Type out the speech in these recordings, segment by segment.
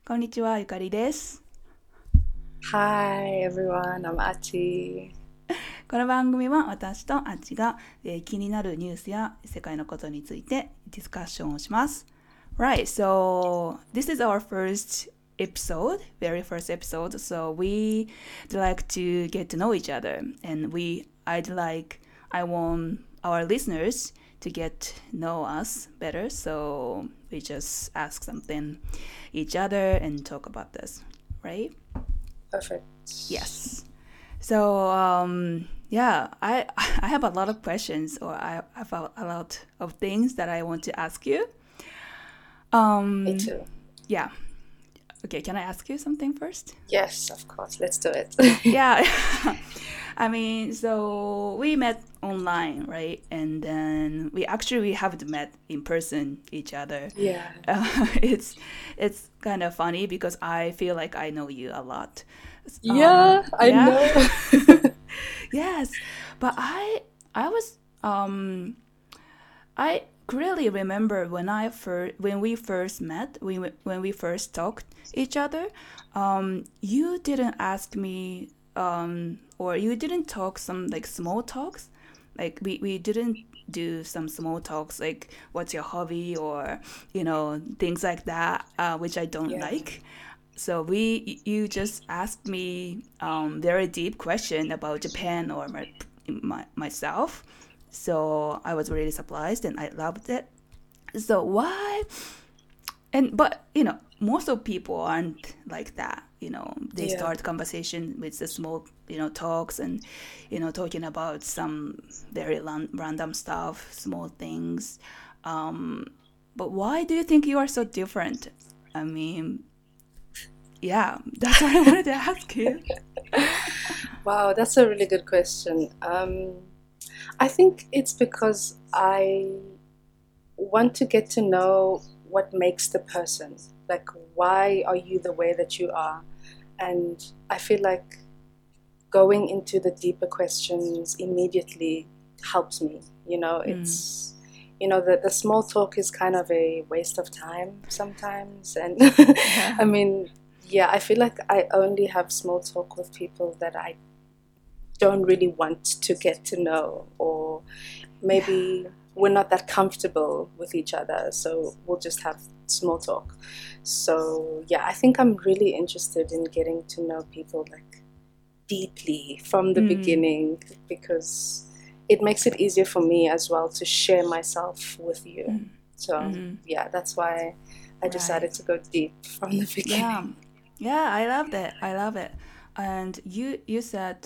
こんにちは、ゆかりです。 Hi everyone, I'm Ati. この番組は私とあっちが、気になるニュースや世界のことについてディスカッションをします。Right, so this is our first episode, very first episode. So we'd like to get to know each other, and I want our listeners to get know us better. So we just ask something each other and talk about this, right? Perfect. Yes. So yeah, I have a lot of questions, or I have a lot of things that I want to ask you. Me Um, too. yeah. Okay, can I ask you something first? Yes, of course. Let's do it. Yeah. I mean, so we met online, right? And then we haven't met in person each other. Yeah. It's kind of funny because I feel like I know you a lot. Yeah, I Yeah. know. Yes, but I was I clearly remember when we first met, when we first talked each other. You didn't ask me, or you didn't talk some like small talks. Like we didn't do some small talks like what's your hobby or things like that, which I don't Yeah. like. So you just asked me very deep question about Japan or myself. So I was really surprised and I loved it. So why? And but most of people aren't like that. They Yeah. start conversation with the small talks and talking about some very random stuff, small things. But why do you think you are so different? I mean, yeah, that's what I wanted to ask you. Wow, that's a really good question. I think it's because I want to get to know what makes the person. Like, why are you the way that you are? And I feel like going into the deeper questions immediately helps me. The small talk is kind of a waste of time sometimes. And Yeah. I mean, yeah, I feel like I only have small talk with people that I don't really want to get to know, or Yeah. maybe we're not that comfortable with each other, so we'll just have small talk. So, yeah, I think I'm really interested in getting to know people like deeply from the Mm. beginning, because it makes it easier for me as well to share myself with you. Mm. So, Mm. yeah, that's why I Right. decided to go deep from the Yeah. beginning. Yeah, I love that. I love it. And you said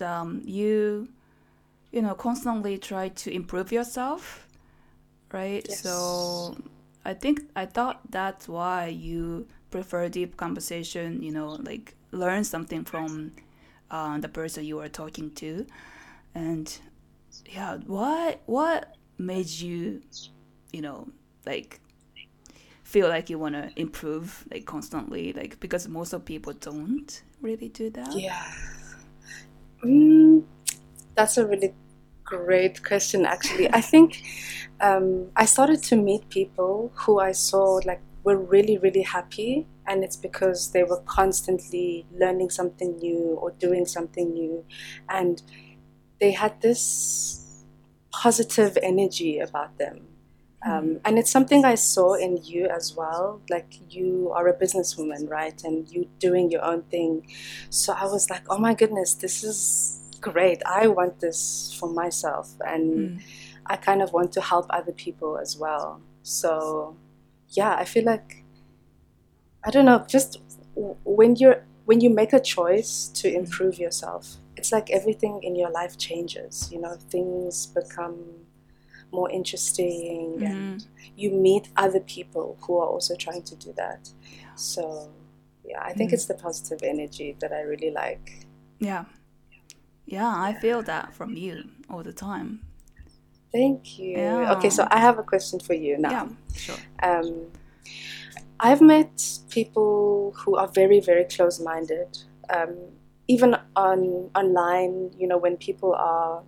you constantly try to improve yourself, right? Yes. So I thought that's why you prefer deep conversation, like learn something from the person you are talking to. And yeah, what made you, you know, like feel like you want to improve like constantly, like because most of people don't really do that. Yeah. Mm, that's a really great question, actually. I think I started to meet people who I saw like were really, really happy, and it's because they were constantly learning something new or doing something new, and they had this positive energy about them. And it's something I saw in you as well. Like, you are a businesswoman, right? And you doing your own thing. So I was like, oh my goodness, this is great. I want this for myself. And Mm. I kind of want to help other people as well. So yeah, I feel like, I don't know, just when you make a choice to improve yourself, it's like everything in your life changes. Things become more interesting, Mm-hmm. and you meet other people who are also trying to do that. Yeah. So yeah, I think Mm. it's the positive energy that I really like. Yeah. Yeah, I Yeah. feel that from you all the time. Thank you. Okay, Yeah. so I have a question for you Yeah, now. sure. Um, I've met people who are very, very close-minded. Um, Even online, when people are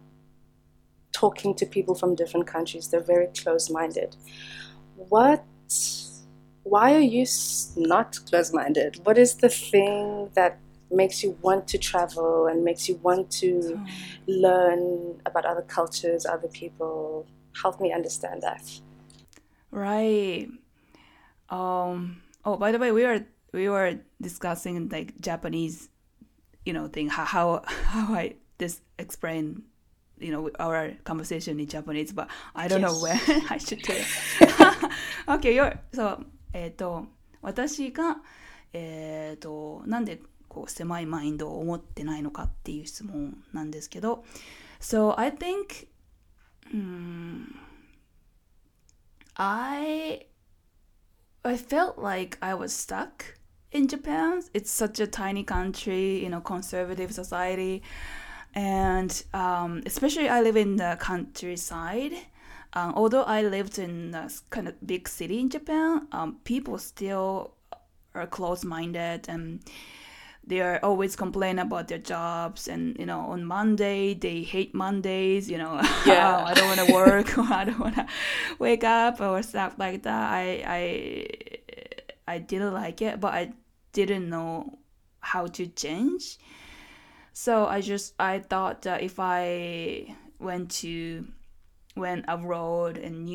talking to people from different countries, they're very close-minded. What why are you not close-minded? What is the thing that makes you want to travel and makes you want to learn about other cultures, other people? Help me understand that. Right. Oh, by the way, we were discussing like Japanese, thing. How I this explain, our conversation in Japanese, but I don't know when Yes. I should tell. Okay, so 私がなんでこう狭いマインドを持ってないのかっていう質問なんですけど、so I think, I felt like I was stuck in Japan. It's such a tiny country, conservative society, and especially I live in the countryside. Although I lived in a kind of big city in Japan, people still are close-minded, and they are always complaining about their jobs, and on Monday they hate Mondays. Yeah. I don't want to work, or I don't want to wake up, or stuff like that. I didn't like it, but I didn't know how to change. So I thought that if I went abroad and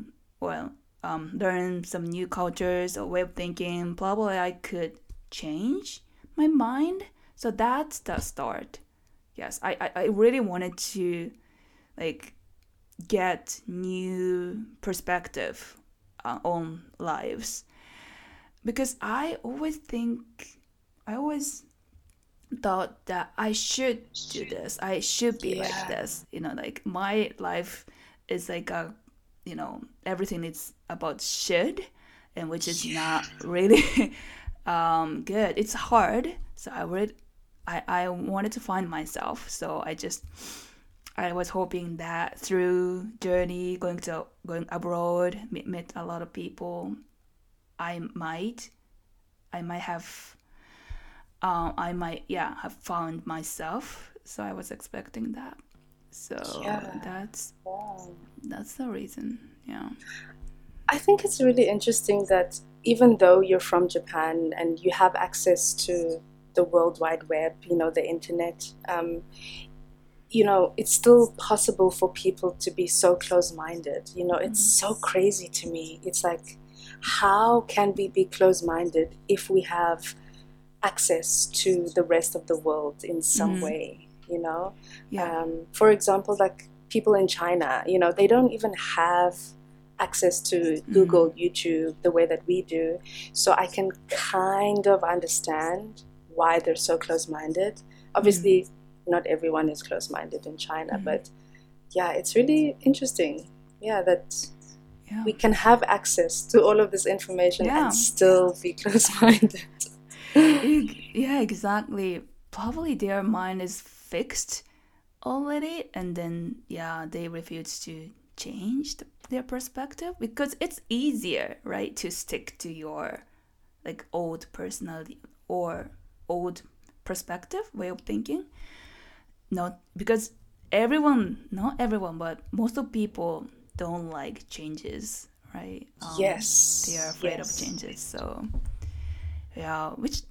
learn some new cultures or way of thinking, probably I could change my mind. So that's the start. Yes, I really wanted to like get new perspective on lives, because I always thought that I should do this. I should be like Yeah. this. Like my life is like everything is about should, and which is not really good. It's hard. So I wanted to find myself. So I was hoping that through journey going abroad, met a lot of people, I might I might have I might have found myself. So I was expecting that. So Yeah. that's Wow. that's the reason. Yeah. I think it's really interesting that even though you're from Japan and you have access to the World Wide Web, the internet, it's still possible for people to be so close-minded. It's so crazy to me. It's like, how can we be close-minded if we have access to the rest of the world in some way? Yeah. For example, like people in China, they don't even have access to Google, YouTube, the way that we do. So I can kind of understand why they're so close-minded. Obviously, not everyone is close-minded in China, but yeah, it's really interesting. Yeah, that Yeah. we can have access to all of this information Yeah. and still be close-minded. Yeah, exactly. Probably their mind is fixed already, and then they refuse to change their perspective, because it's easier, right, to stick to your like old personality or old perspective, way of thinking. Not because not everyone, but most of people don't like changes, right? Yes. They are afraid of Yes. changes. So which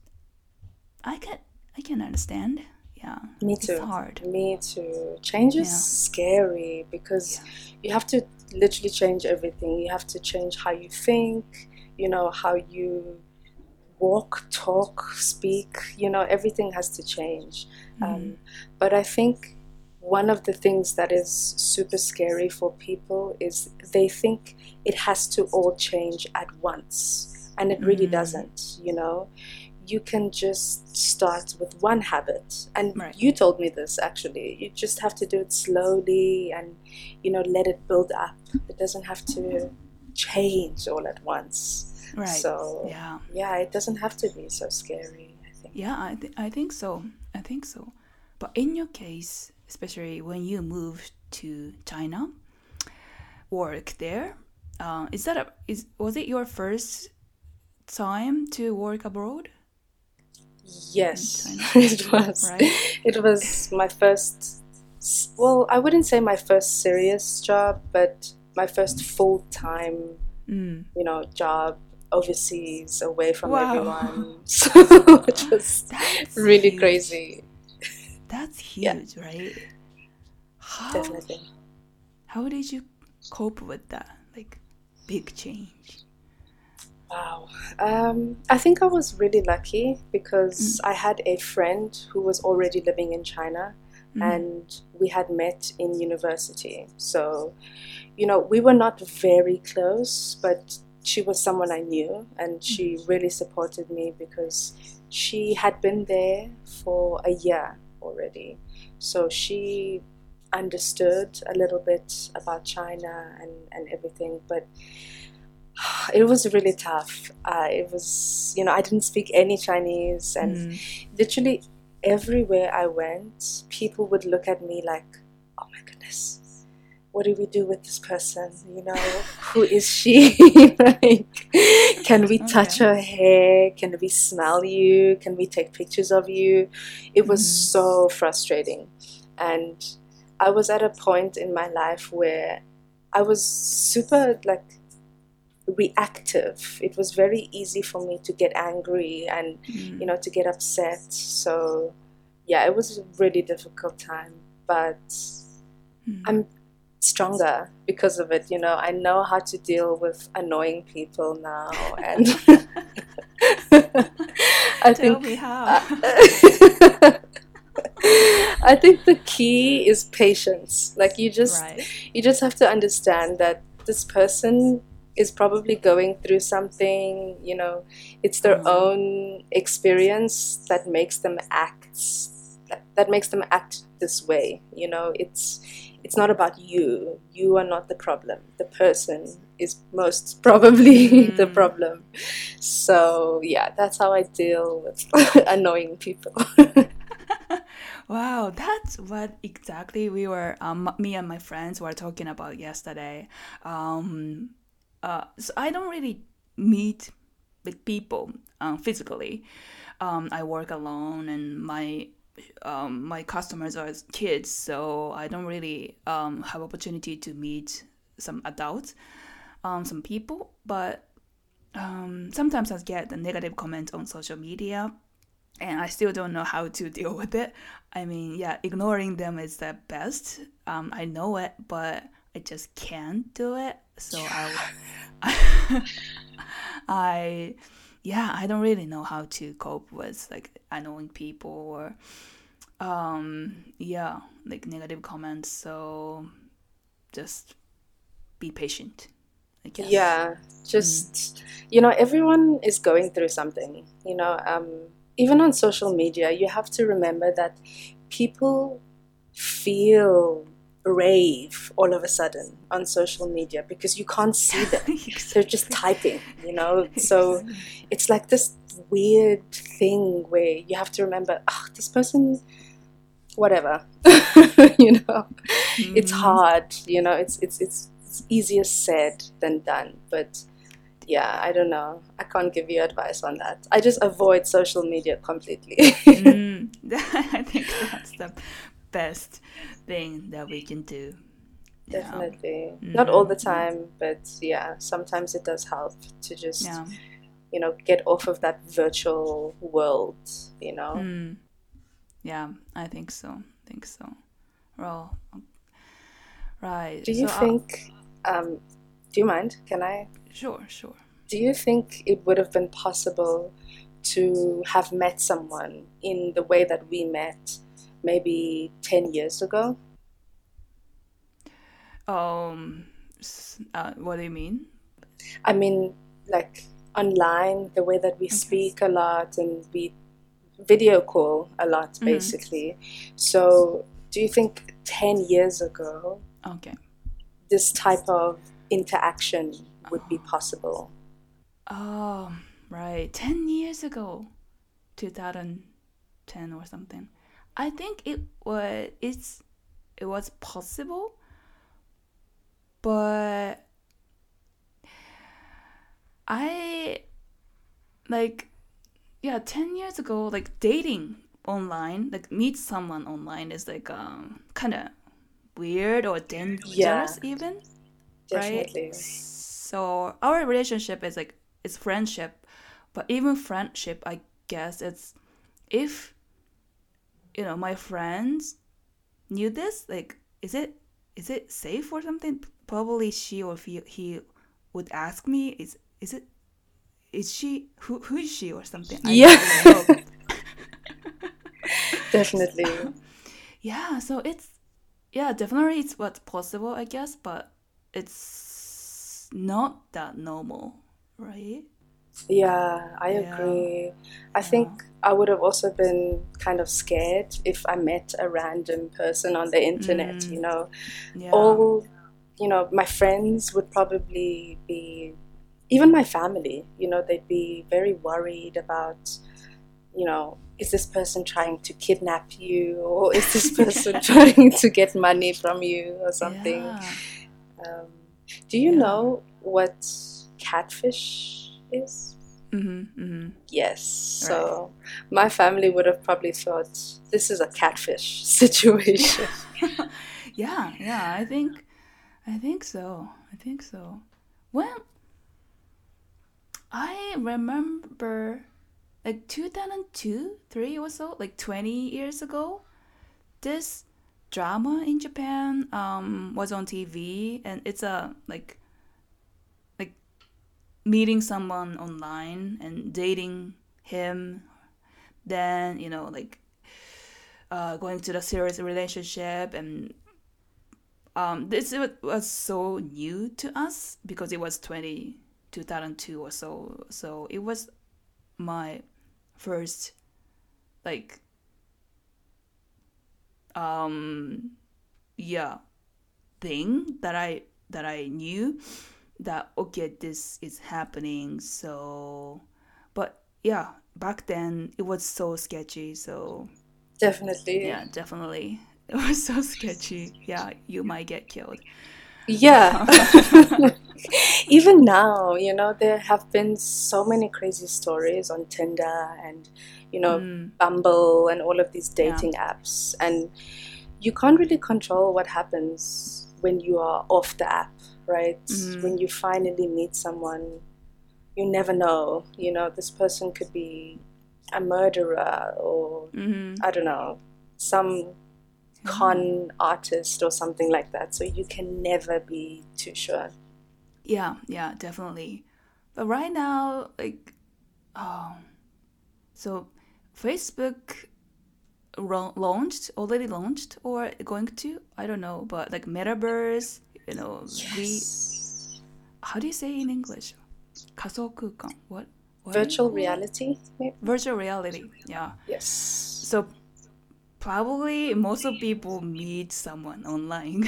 I can understand. Yeah, Me it's too. hard. Me too. Change is Yeah. scary because you have to literally change everything. You have to change how you think, how you walk, talk, speak, everything has to change. But I think one of the things that is super scary for people is they think it has to all change at once, and it really doesn't. You can just start with one habit, and Right. you told me this actually. You just have to do it slowly and let it build up. It doesn't have to change all at once. Right. So Yeah. it doesn't have to be so scary, I think. Yeah, I think so. I think so. But in your case, especially when you moved to China, work there, was it your first time to work abroad? Yes, In China? it was. Right. It was my first, well, I wouldn't say my first serious job, but my first full-time, job overseas, away from Wow. everyone. So it was That's really huge. crazy. That's Yeah, huge, right? How definitely. how did you cope with that? Like big change. Wow. I think I was really lucky because Mm, I had a friend who was already living in China mm, and we had met in university. So, we were not very close, but she was someone I knew and mm, she really supported me because she had been there for a year already. So she understood a little bit about China and everything, but it was really tough. It was, I didn't speak any Chinese, and mm. literally everywhere I went, people would look at me like, oh my goodness, what do we do with this person? Who is she? Like, can we touch Okay. her hair? Can we smell you? Can we take pictures of you? It was Mm, so frustrating. And I was at a point in my life where I was super like reactive. It was very easy for me to get angry and, mm, to get upset. So, yeah, it was a really difficult time, but mm. I'm stronger because of it. I know how to deal with annoying people now, and I Tell think me how. uh, I think the key is patience. Like Right. you just have to understand that this person is probably going through something, it's their Uh-huh. own experience that makes them act this way. It's not about you. You are not the problem. The person is most probably the Mm. problem. So yeah, that's how I deal with annoying people. Wow, that's what exactly we were, me and my friends were talking about yesterday. Um, so I don't really meet with people physically. I work alone, and my customers are kids, so I don't really have opportunity to meet some adults, some people. But sometimes I get the negative comments on social media, and I still don't know how to deal with it. I mean, yeah, ignoring them is the best. I know it, but I just can't do it. So I, yeah, I don't really know how to cope with like annoying people or, yeah, like negative comments. So just be patient, I guess. Yeah, Mm. just, everyone is going through something, even on social media, you have to remember that people feel brave all of a sudden on social media because you can't see them. They're just Exactly. typing, So Exactly. it's like this weird thing where you have to remember, this person, whatever, you know it's Mm. hard. It's easier said than done, but yeah, I don't know, I can't give you advice on that. I just avoid social media completely. Mm. I think that's the best thing that we can do. Yeah. Definitely not all Mm-hmm. the Yeah. time, but yeah, sometimes it does help to just Yeah. get off of that virtual world. Mm. Yeah. I think so. Think so. Well, right. Do you So, think do you mind, can I sure, sure. do you think it would have been possible to have met someone in the way that we met maybe 10 years ago? Um, what do you mean? I mean, like online, the way that we Okay. speak a lot and we video call a lot, Mm-hmm. basically. So, do you think 10 years ago Okay. this type of interaction would be possible? Oh, right. 10 years ago, 2010 or something. I think it was possible, but I like yeah, 10 years ago, like dating online, like meet someone online is like kind of weird or Yeah, dangerous even, right? definitely. So our relationship is like it's friendship. But even friendship, I guess it's if my friends knew this, like is it safe or something? Probably she or he would ask me, is she who is she or something? I Yeah, don't know. definitely. Yeah, so definitely it's what's possible, I guess, but it's not that normal, right? Yeah, I Yeah, agree. I yeah, think I would have also been kind of scared if I met a random person on the internet, mm, yeah, All, my friends would probably be, even my family, they'd be very worried about, is this person trying to kidnap you, or is this person trying to get money from you or something? yeah, Um, do you yeah. know what catfish is? Mm-hmm, mm-hmm. Yes. Right. So my family would have probably thought this is a catfish situation. Yeah, yeah. I think so. I think so. Well, I remember like 2002, 3 or so, like 20 years ago. This drama in Japan was on TV, and it's a like meeting someone online and dating him, then like going to the serious relationship, and this was so new to us because it was 2002 or so. So it was my first like um yeah thing that I knew that okay, this is happening. So but yeah, back then it was so sketchy. So Definitely. yeah, definitely it was so sketchy. Yeah, you might get killed. Yeah. Even now, there have been so many crazy stories on Tinder and, mm, Bumble and all of these yeah. dating apps. And you can't really control what happens when you are off the app, right? Mm-hmm. When you finally meet someone, you never know. This person could be a murderer or, Mm-hmm. I don't know, some Yeah. con artist or something like that. So you can never be too sure. Yeah, yeah, definitely. But right now, like, oh, so Facebook already launched, or going to? I don't know, but like Metaverse, Yes. how do you say in English? 仮想空間. What do you Virtual call it? reality, maybe? Virtual reality. Yeah. Yes. So probably most of people meet someone online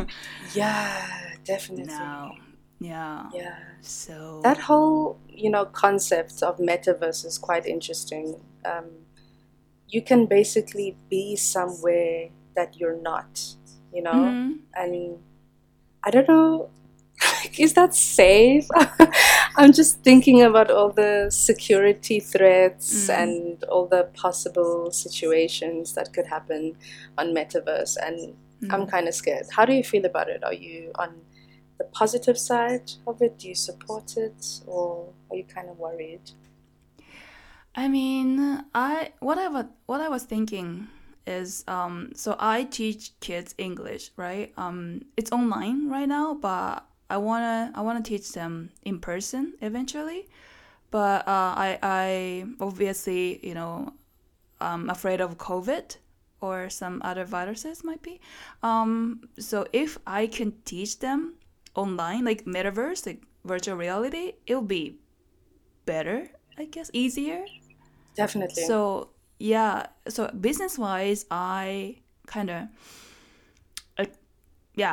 Yeah, now. definitely. Yeah. Yeah. That So. whole, concept of metaverse is quite interesting. You can basically be somewhere that you're not, Mm-hmm. and I don't know, is that safe? I'm just thinking about all the security threats Mm. and all the possible situations that could happen on metaverse, and I'm Mm. kind of scared. How do you feel about it? Are you on the positive side of it? Do you support it, or are you kind of worried? I mean, what I was thinking is so I teach kids English, right? It's online right now, but I wanna teach them in person eventually. But I obviously I'm afraid of COVID or some other viruses might be. So if I can teach them online, like metaverse, like virtual reality, it'll be better, I guess, easier. Definitely. So yeah, so business wise, I kind of uh, yeah,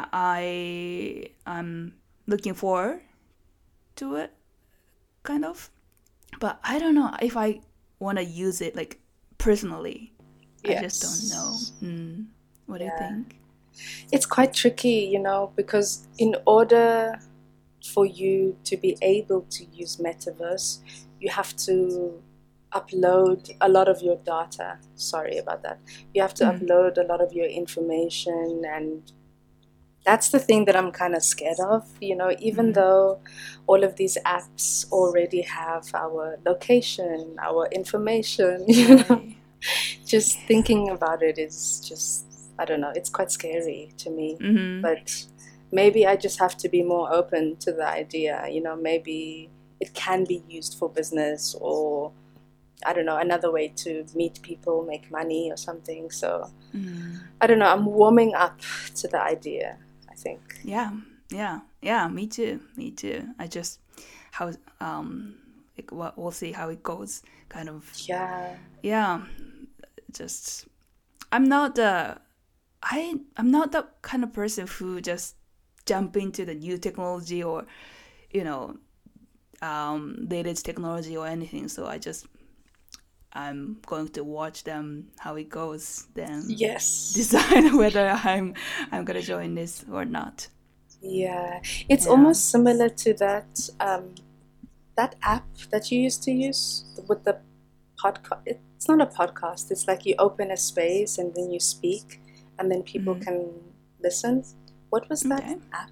I'm looking forward to it, kind of. But I don't know if I want to use it like personally. I just don't know. Yes. What do you Yeah. think? It's quite tricky, because in order for you to be able to use metaverse, you have to upload a lot of your data. Sorry about that. You have to Mm. upload a lot of your information, and that's the thing that I'm kind of scared of. Even though all of these apps already have our location, our information, Right. just thinking about it is just, I don't know, it's quite scary to me. Mm-hmm. But maybe I just have to be more open to the idea. Maybe it can be used for business, or I don't know, another way to meet people, make money or something. So I don't know, I'm warming up to the idea, I think. Yeah, yeah. Me too. Me too. I just how we'll see how it goes. Kind of. Yeah. Yeah. Just I'm not the I'm not the kind of person who just jump into the new technology or you know latest technology or anything. So I'm going to watch them how it goes, then Yes. decide whether I'm gonna join this or not. Yeah. It's Yeah. almost similar to that app that you used to use with the podcast. It's not a podcast. It's like you open a space and then you speak, and then people can listen. What was that Okay. app?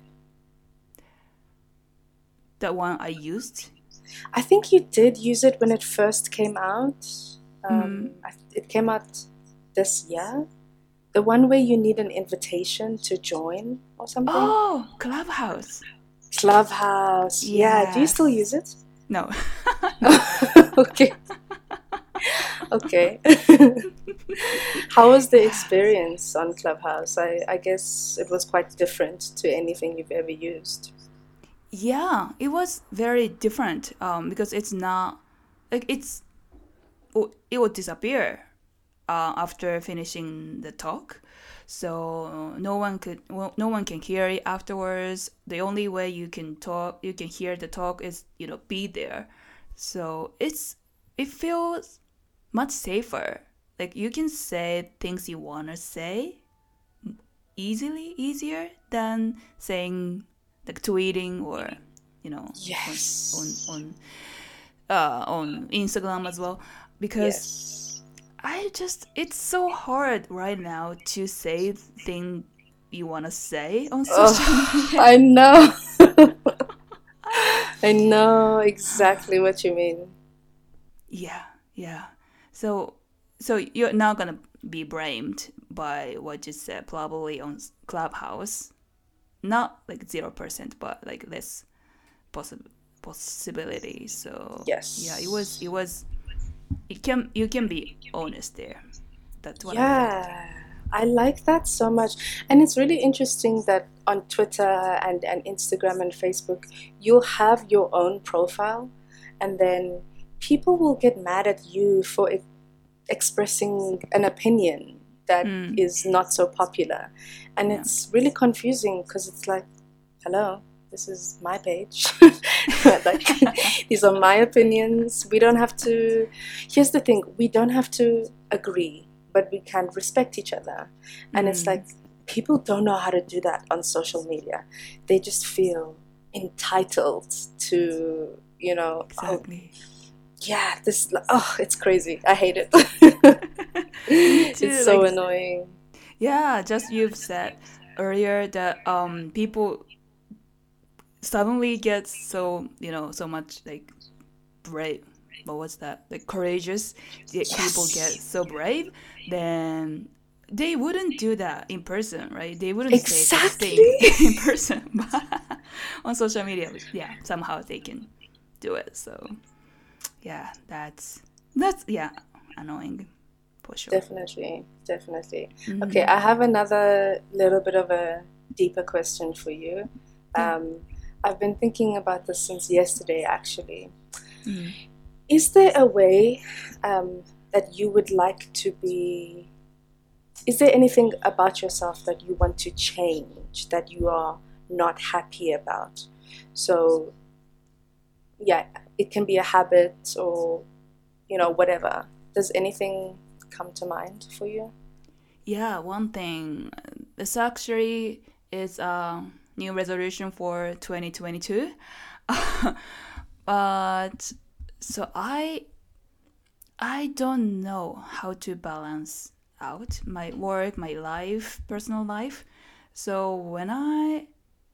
The one I used. I think you did use it when it first came out. Mm. It came out this year. The one where you need an invitation to join or something. Oh, Clubhouse. Clubhouse. Yeah. Do you still Yes. use it? No. Okay. Okay. How was the experience on Clubhouse? I guess it was quite different to anything you've ever used. Yeah, it was very different because it's not like it would disappear after finishing the talk. So no one can hear it afterwards. The only way you can hear the talk is be there. So it feels much safer. Like you can say things you wanna say easier than saying like tweeting or Yes. on Instagram as well, because Yes. it's so hard right now to say thing you want to say on social Oh, media. I know. I know exactly what you mean. Yeah, yeah. So you're not gonna be blamed by what you said probably on Clubhouse. Not like 0%, but like less possibility. So yeah, Yes. you can be honest there. That's what I felt. Yeah, I like that so much. And it's really interesting that on Twitter and Instagram and Facebook, you'll have your own profile, and then people will get mad at you for expressing an opinion that is not so popular. And Yeah. it's really confusing because it's like, hello, this is my page. Like, these are my opinions. We don't have to, here's the thing, we don't have to agree, but we can respect each other. And it's like, people don't know how to do that on social media. They just feel entitled to, Exactly. yeah, it's crazy. I hate it. Me too. It's so annoying. Yeah, just you've said earlier that people suddenly get so so much like brave. What was that? Like courageous. People get Yes, so brave, then they wouldn't do that in person, right? They wouldn't say such thing exactly. in person, but on social media, yeah, somehow they can do it. So yeah, that's yeah, annoying for sure. Definitely, definitely. Okay, I have another little bit of a deeper question for you. Yeah. I've been thinking about this since yesterday, actually. Is there a way that you would like to be? Is there anything about yourself that you want to change, that you are not happy about? So, yeah, it can be a habit or, whatever. Does anything come to mind for you? Yeah, one thing. This actually is a new resolution for 2022. But so I don't know how to balance out my work, my life, personal life. So when I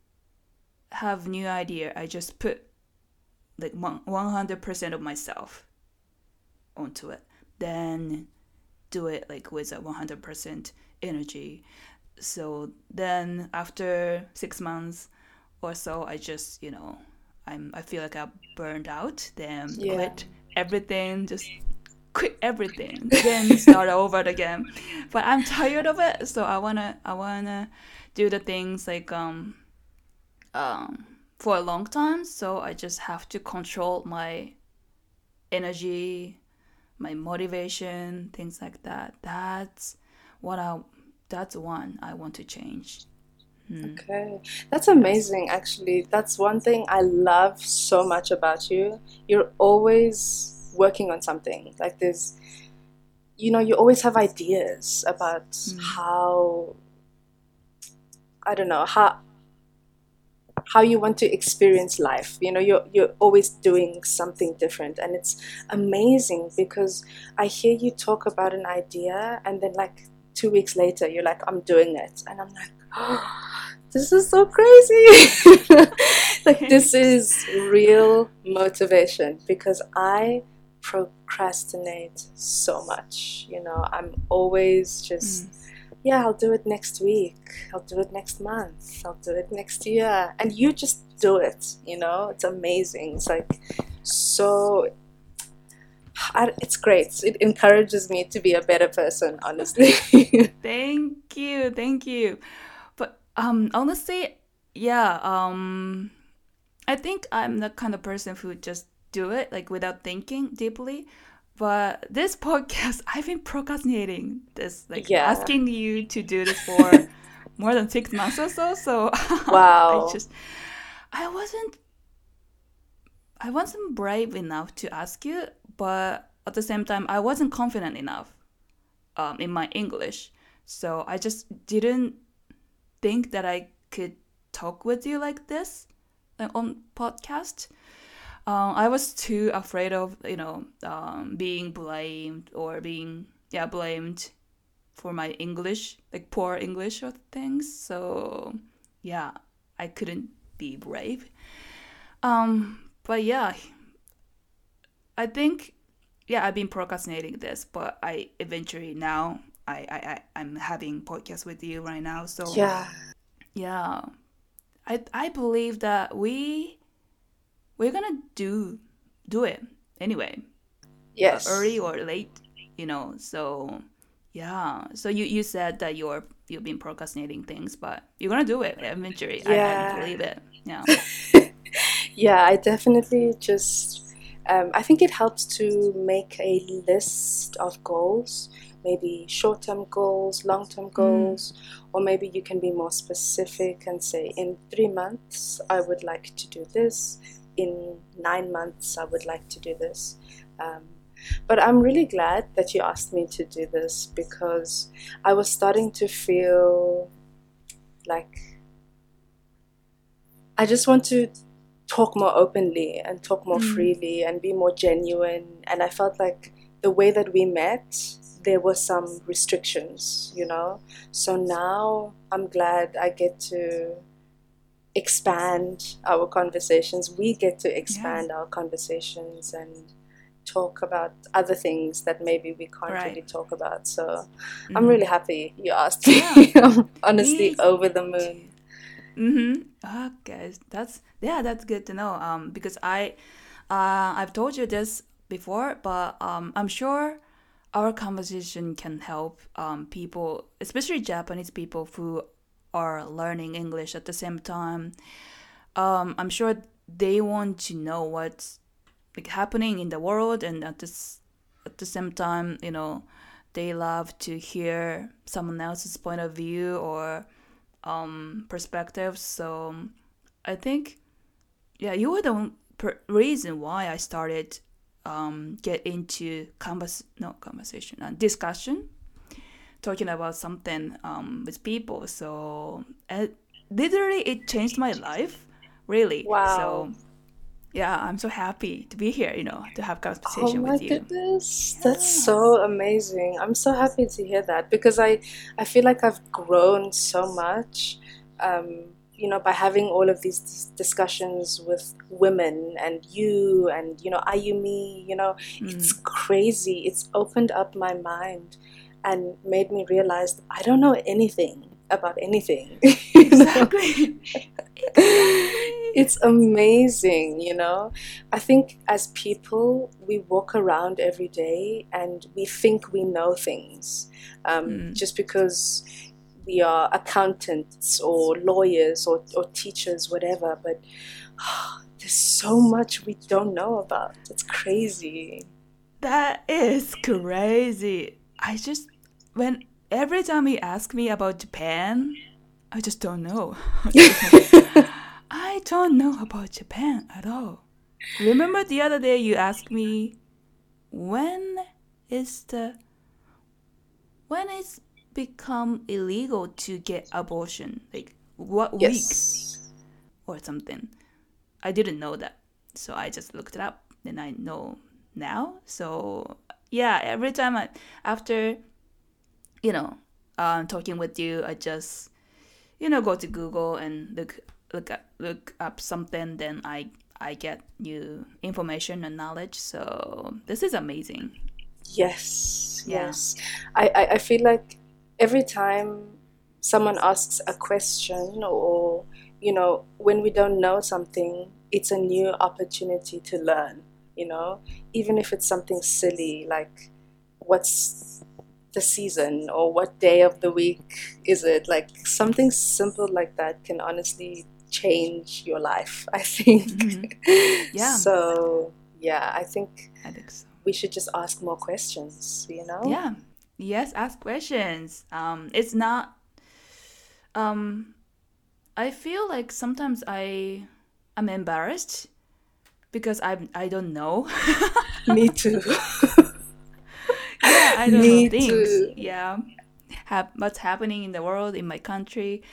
have new idea, I just put like 100% of myself onto it. Then do it like with a 100% energy. So then after 6 months or so, I just, I feel like I burned out, then Yeah. quit everything, just quit everything, then start over again. But I'm tired of it, so I wanna do the things like um for a long time. So I just have to control my energy, my motivation, things like that. What I that's one I want to change. Okay. That's Yes. amazing, actually. That's one thing I love so much about you. You're always working on something. Like you always have ideas about Mm. how, I don't know, how you want to experience life. You're always doing something different, and it's amazing because I hear you talk about an idea, and then like 2 weeks later, you're like, I'm doing it, and I'm like, oh, this is so crazy. Like, this Thanks. is real motivation because I procrastinate so much. I'm always just, Mm. yeah, I'll do it next week. I'll do it next month. I'll do it next year. And you just do it. It's amazing. It's like so, it's great. It encourages me to be a better person, honestly. Thank you, thank you. But honestly, yeah, I think I'm the kind of person who just do it like without thinking deeply. But this podcast, I've been procrastinating this, like Yeah. asking you to do this for more than 6 months or so. So I Wow. just, I wasn't, I wasn't brave enough to ask you, but at the same time, I wasn't confident enough in my English. So I just didn't think that I could talk with you like this on podcast. I was too afraid of being blamed or being blamed for my English, like poor English or things. So yeah, I couldn't be brave. But yeah, I think I've been procrastinating this, but I eventually now I'm having podcast with you right now. So Yeah. yeah, I believe that we're gonna do it anyway, early Yes. or late, So yeah, so you said that you've been procrastinating things, but you're gonna do it eventually. I Yeah. believe it. Yeah. Yeah, I definitely just, I think it helps to make a list of goals, maybe short term goals, long term Mm, goals, or maybe you can be more specific and say, in 3 months, I would like to do this. In 9 months, I would like to do this. Um, but I'm really glad that you asked me to do this because I was starting to feel like I just want to talk more openly and talk more mm, freely and be more genuine. And I felt like the way that we met, there were some restrictions. So now I'm glad I get to expand our conversations. We get to yeah. expand our conversations and talk about other things that maybe we can't Right. really talk about. So I'm Mm-hmm. really happy you asked Yeah. me. I'm honestly Me over the moon. too. Mm-hmm. Okay, that's good to know. Because I've told you this before, but I'm sure our conversation can help people, especially Japanese people who are learning English at the same time. I'm sure they want to know what's like happening in the world, and at the same time, they love to hear someone else's point of view or perspectives. So I think you were the reason why I started get into conversation and discussion, talking about something with people. So literally, it changed my life, really. Wow. So Yeah, I'm so happy to be here, to have Oh conversation my with you. goodness, that's Yeah. so amazing. I'm so happy to hear that because I feel like I've grown so much, by having all of these discussions with women and you and, Ayumi, it's Mm. crazy. It's opened up my mind and made me realize that I don't know anything about anything. you know? Exactly. Exactly. It's amazing. I think as people, we walk around every day and we think we know things Mm. just because we are accountants or lawyers or teachers, whatever. But there's so much we don't know about. It's crazy. That is crazy. When every time you ask me about Japan, I just don't know. I don't know about Japan at all. Remember the other day you asked me when is the when it's become illegal to get abortion? Like what week Yes. or something? I didn't know that. So I just looked it up and I know now. So yeah, every time after, you know, talking with you, I just, go to Google and look up something, then I get new information and knowledge. So this is amazing. Yes, Yeah. yes. I feel like every time someone asks a question or, when we don't know something, it's a new opportunity to learn. Even if it's something silly like what's the season or what day of the week is it? Like something simple like that can honestly change your life, I Hmm. think. Yeah, So, yeah, I think I think so. we should just ask more questions. Yeah. Yes, ask questions. It's not. Um, I feel like sometimes I'm embarrassed because I don't know. Me too. Yeah, I don't know Me things. too. Yeah, what's happening in the world in my country.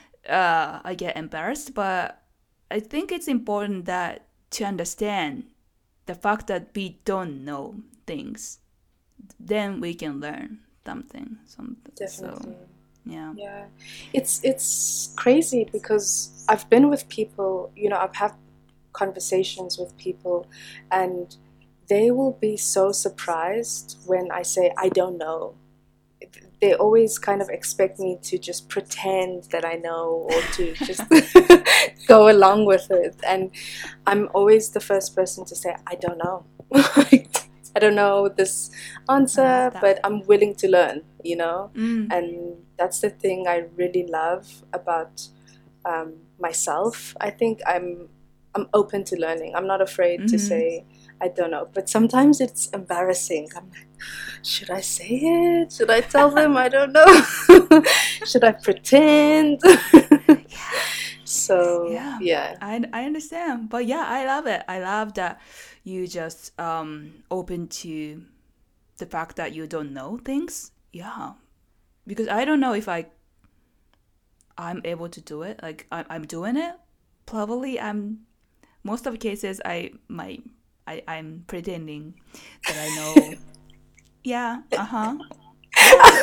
I get embarrassed, but I think it's important that to understand the fact that we don't know things, then we can learn something. So Definitely. yeah. Yeah. It's crazy because I've been with people, I've had conversations with people and they will be so surprised when I say I don't know. They always kind of expect me to just pretend that I know or to just go along with it. And I'm always the first person to say, I don't know. I don't know this I love answer, that. but I'm willing to learn. Mm. And that's the thing I really love about myself. I think I'm open to learning. I'm not afraid to Mm-hmm. say I don't know. But sometimes it's embarrassing. I'm like, should I say it? Should I tell them I don't know? Should I pretend? So Yeah, yeah, I understand, but yeah, I love it. I love that you just open to the fact that you don't know things. Yeah, because I don't know if I'm able to do it. Like I'm doing it. Probably I'm most of the cases I'm pretending that I know. Yeah. Uh huh. Yeah.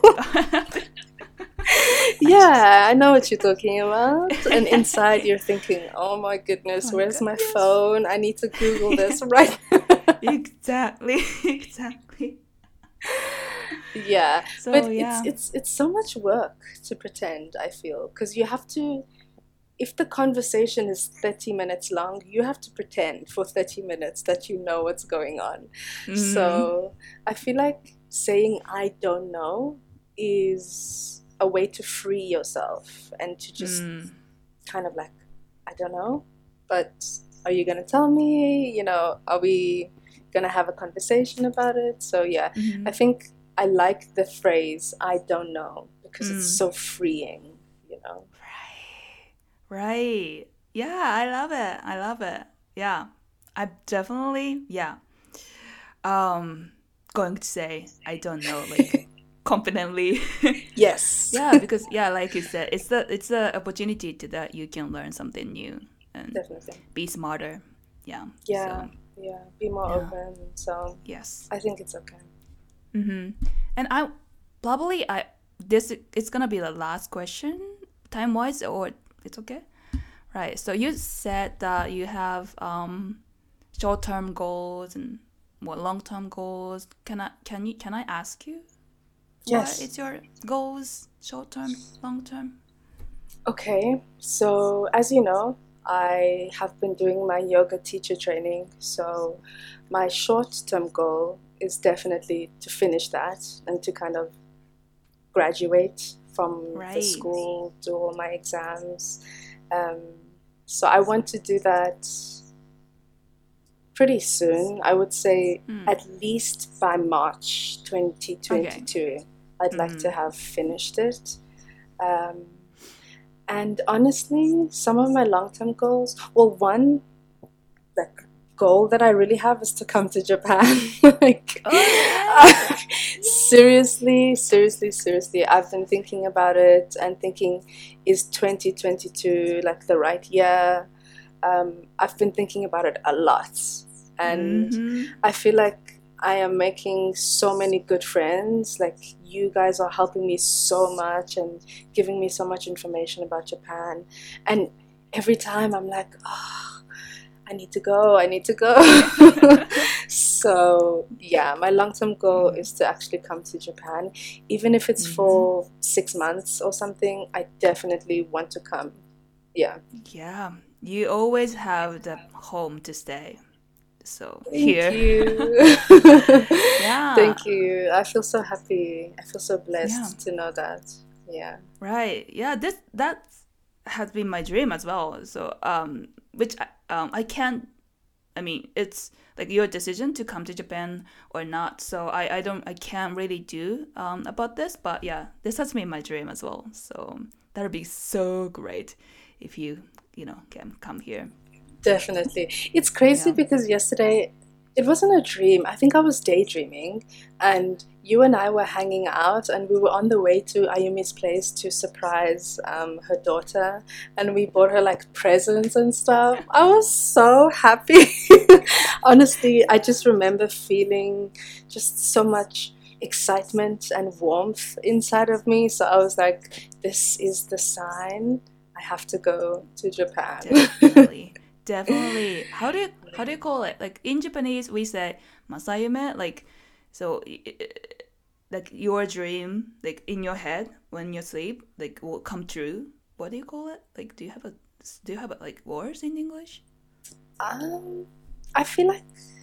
I just. yeah, I know what you're talking about. And inside you're thinking, oh my Oh goodness, my where's god. my Yes. phone? I need to Google this right. Exactly. Exactly. Yeah, So but it's yeah. it's it's so much work to pretend, I feel, because you have to, if the conversation is 30 minutes long, you have to pretend for 30 minutes that you know what's going on. Mm, So I feel like saying I don't know is a way to free yourself and to just mm, kind of like, I don't know, but are you going to tell me? Are we going to have a conversation about it? So yeah, I mm, think I like the phrase I don't know because it's mm. so freeing. Right. Right. Yeah, I love it. I love it. Yeah. I definitely, yeah. Um going to say I don't know like confidently. Yes, Yeah, because yeah, like you said, it's the opportunity to that you can learn something new and definitely. be smarter. Yeah. Yeah, So yeah, be more yeah. open. So Yes. I think it's okay. And I probably I this it's gonna be the last question time wise, or it's okay. Right. So you said that you have short term goals and more long term goals. Can I ask you what Yes. is your goals, short term, long term? Okay, so as you know, I have been doing my yoga teacher training. So my short-term goal is definitely to finish that and to kind of graduate from the Right. school, do all my exams. Um, so I want to do that pretty soon. I would say at least by March Okay. 2022, I'd like to have finished it. Um, And honestly, some of my long-term goals, well, one like goal that I really have is to come to Japan. Like, Oh yeah. seriously, seriously, seriously, I've been thinking about it and thinking, is 2022 like the right year? I've been thinking about it a lot, and Mm-hmm. I feel like I am making so many good friends. Like, you guys are helping me so much and giving me so much information about Japan. And every time I'm like, oh, I need to go, I need to go. So, yeah, my long term goal is to actually come to Japan. Even if it's for 6 months or something, I definitely want to come. Yeah. Yeah. You always have the home to stay. So Thank here. you. Yeah. Thank you. I feel so happy. I feel so Yeah. blessed to know that. Yeah. Right. Yeah. That has been my dream as well. So which I can't. I mean, it's like your decision to come to Japan or not. So I can't really do about this. But yeah, this has been my dream as well. So that would be so great if you can come here. Definitely. It's crazy Yeah. because yesterday it wasn't a dream. I think I was daydreaming, and you and I were hanging out, and we were on the way to Ayumi's place to surprise her daughter, and we bought her like presents and stuff. I was so happy. Honestly, I just remember feeling just so much excitement and warmth inside of me. So I was like, this is the sign. I have to go to Japan. Definitely. Definitely. How do you call it? Like in Japanese we say masayume, like so like your dream like in your head when you sleep like will come true. What do you call it? Like do you have like words in English? Um, I feel like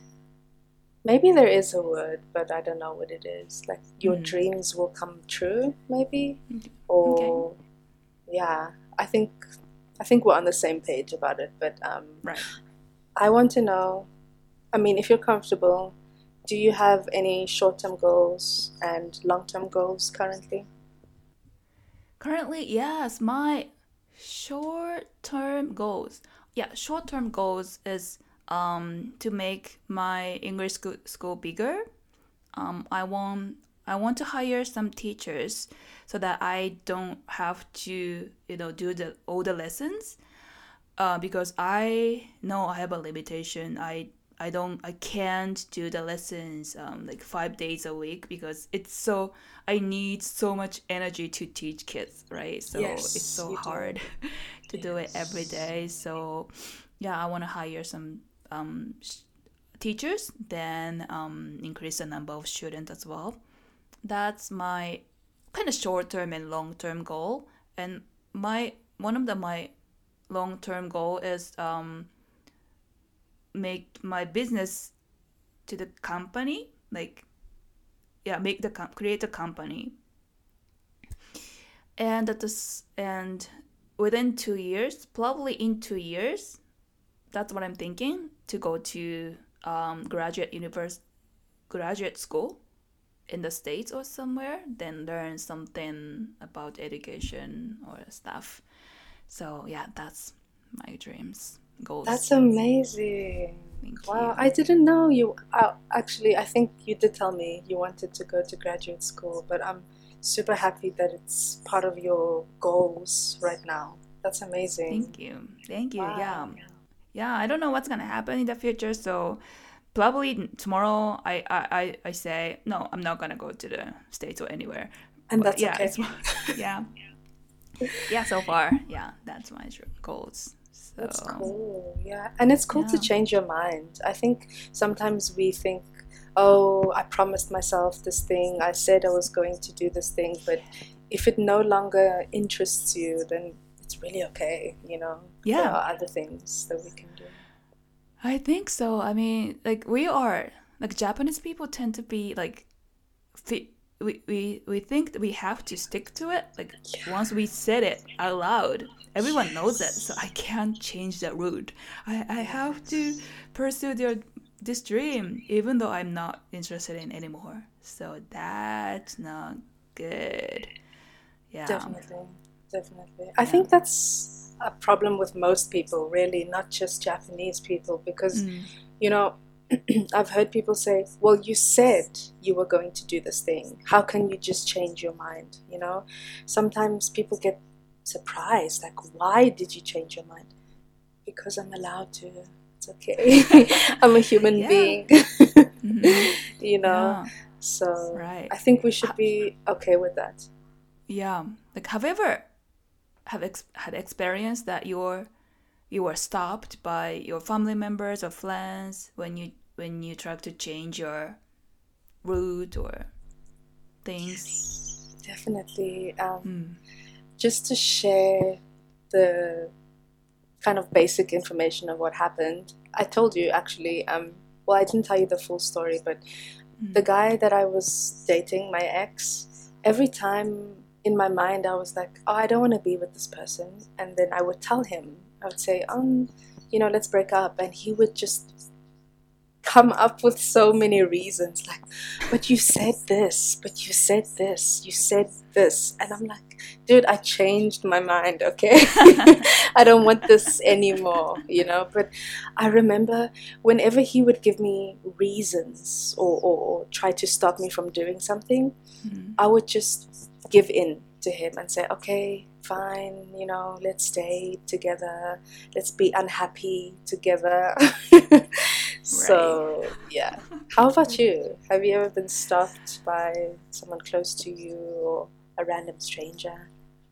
maybe there is a word, but I don't know what it is. Like, your dreams will come true, maybe? Okay. Or yeah, I think we're on the same page about it, but Right. I want to know, I mean, if you're comfortable, do you have any short-term goals and long-term goals currently? Currently, yes, my short-term goals. Yeah, short-term goals is to make my English school bigger. I want to hire some teachers so that I don't have to do all the lessons. Because I know I have a limitation. I can't do the lessons like 5 days a week because it's so I need so much energy to teach kids, right? So it's Yes, so you do. hard to do it every Yes. day. So yeah, I want to hire some teachers, then increase the number of students as well. That's my kind of short term and long term goal. And my one of my long term goal is make my business to the company, like yeah, create a company, and within 2 years, probably in 2 years, that's what I'm thinking to go to graduate school in the States or somewhere, then learn something about education or stuff. So yeah, that's my dreams, That's goals. amazing. Thank Wow, you. I didn't know you. Actually, I think you did tell me you wanted to go to graduate school, but I'm super happy that it's part of your goals right now. That's amazing. Thank you. Thank you. Yeah. Wow. yeah, I don't know what's gonna happen in the future. So probably tomorrow, I say no, I'm not gonna go to the States or anywhere. And But that's yeah, okay. it's yeah, yeah. So far, yeah, that's my goals. That's So cool. Yeah. And it's cool to yeah, change your mind. I think sometimes we think, oh, I promised myself this thing. I said I was going to do this thing. But if it no longer interests you, then it's really okay. There yeah. are other things that we can do. I think so. I mean, like we are like Japanese people tend to be like we think that we have to stick to it. Like once we said it out loud, everyone knows it. So I can't change that route. I have to Yes. pursue this dream even though I'm not interested in anymore. So that's not good. Yeah. Definitely. Definitely. I Yeah. think that's a problem with most people, really, not just Japanese people, because, Mm. you know, I've heard people say, well, you said you were going to do this thing. How can you just change your mind? Sometimes people get surprised, like, why did you change your mind? Because I'm allowed to. It's okay. I'm a human Yeah. being, Hmm. you know? Yeah. So Right. I think we should be okay with that. Yeah. Like have you ever had experience that you were stopped by your family members or friends when you try to change your route or things? Yes, definitely. Mm. Just to share the kind of basic information of what happened. I told you actually, well, I didn't tell you the full story, but the Mm. guy that I was dating, my ex, every time in my mind I was like, oh, I don't want to be with this person. And then I would tell him, I would say, let's break up. And he would just come up with so many reasons like, but you said this, but you said this, you said this. And I'm like, dude, I changed my mind, okay? I don't want this anymore. But I remember whenever he would give me reasons or try to stop me from doing something, Mm. I would just give in to him and say, okay, fine, let's stay together, let's be unhappy together. Right. So, yeah. How about you? Have you ever been stopped by someone close to you or a random stranger?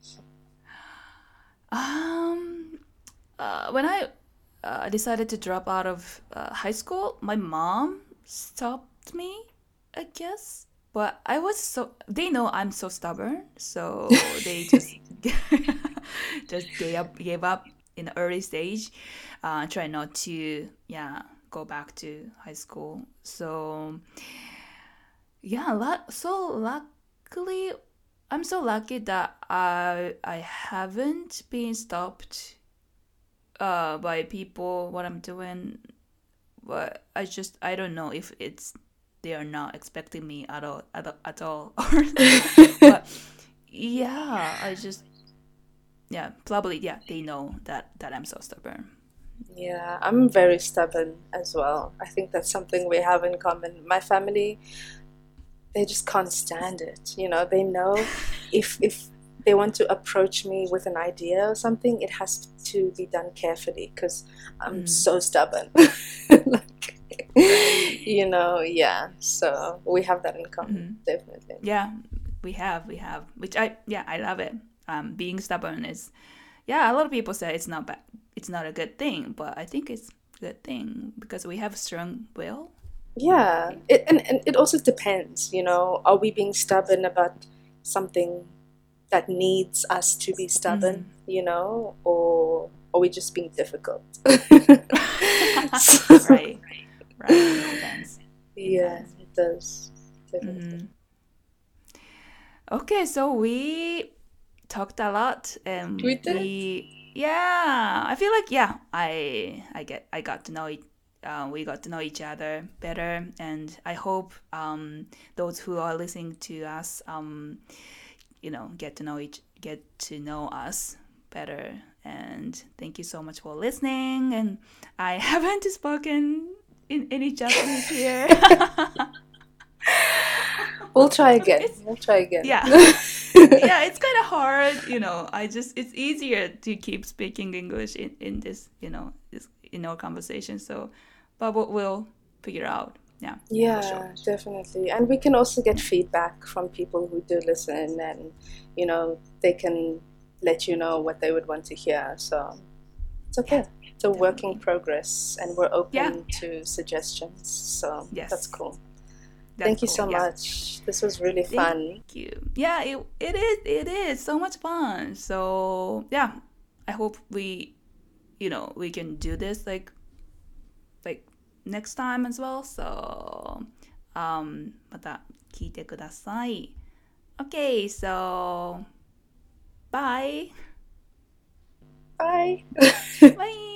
Um. When I decided to drop out of high school, my mom stopped me, I guess. But I was so they know I'm so stubborn, so they just just gave up in the early stage. Try not to go back to high school. So yeah, so luckily I'm so lucky that I haven't been stopped by people what I'm doing, but I don't know if it's they are not expecting me at all or but yeah, probably they know that I'm so stubborn. Yeah, I'm very stubborn as well. I think that's something we have in common. My family, they just can't stand it. They know if they want to approach me with an idea or something, it has to be done carefully because I'm Mm, so stubborn. Like, right. yeah. So we have that in common, Hmm. definitely. Yeah, we have which I love it. Being stubborn is a lot of people say it's not bad, it's not a good thing, but I think it's a good thing because we have strong will, Yeah, right? and it also depends. Are we being stubborn about something that needs us to be Mm. stubborn, or are we just being difficult? So, Right, right. It depends. It yeah, depends. it does. Definitely. Hmm. Okay, so we talked a lot, We and did. I feel like I got to know it. We got to know each other better, and I hope those who are listening to us, get to know us better. And thank you so much for listening. And I haven't spoken in any Japanese here. We'll try again. It's We'll try again. yeah. Yeah, it's kind of hard. It's easier to keep speaking English in this, in our conversation. So, but we'll figure out. Yeah, for Yeah, sure. definitely. And we can also get feedback from people who do listen, and they can let you know what they would want to hear. So it's okay. It's a work in Definitely. progress, and we're Yeah. open to suggestions. So that's Yes. cool. That's Thank you cool. so Yeah. much. This was really Thank fun. you. Yeah, it is so much fun. So yeah, I hope we can do this like next time as well. So また聞いてください。Okay, so bye. Bye. Bye.